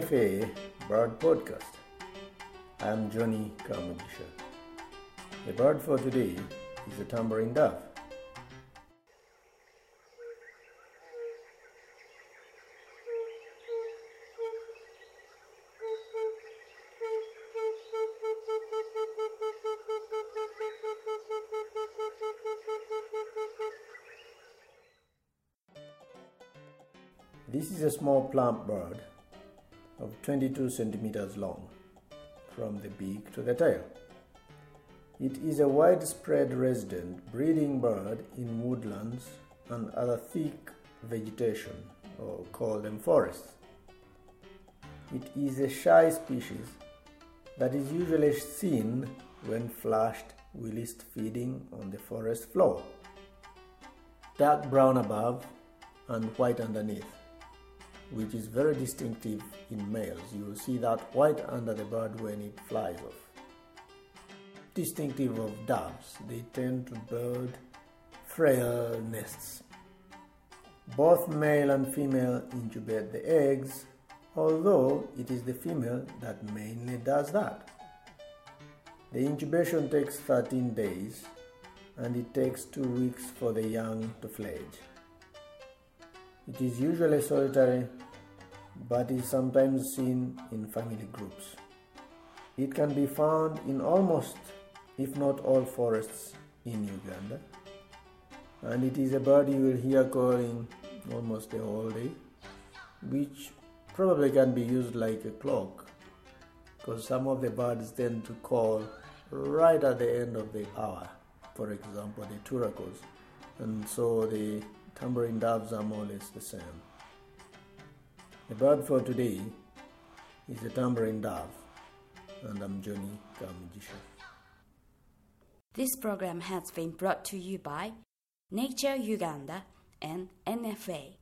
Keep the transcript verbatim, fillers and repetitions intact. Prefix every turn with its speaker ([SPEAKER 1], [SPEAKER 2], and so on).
[SPEAKER 1] F A Bird Podcast. I am Johnny Kamugisha. The bird for today is a tambourine dove. This is a small plump bird of twenty-two centimeters long from the beak to the tail. It is a widespread resident breeding bird in woodlands and other thick vegetation, or call them forests. It is a shy species that is usually seen when flushed whilst feeding on the forest floor. Dark brown above and white underneath, which is very distinctive in males. You will see that white under the bird when it flies off. Distinctive of doves, they tend to build frail nests. Both male and female incubate the eggs, although it is the female that mainly does that. The incubation takes thirteen days, and it takes two weeks for the young to fledge. It is usually solitary, but is sometimes seen in family groups. It can be found in almost, if not all, forests in Uganda, and it is a bird you will hear calling almost the whole day, which probably can be used like a clock, because some of the birds tend to call right at the end of the hour, for example the turacos, and so the tambourine doves are more or less the same. The bird for today is a tambourine dove, and I'm Johnny Kamugisha.
[SPEAKER 2] This program has been brought to you by Nature Uganda and N F A.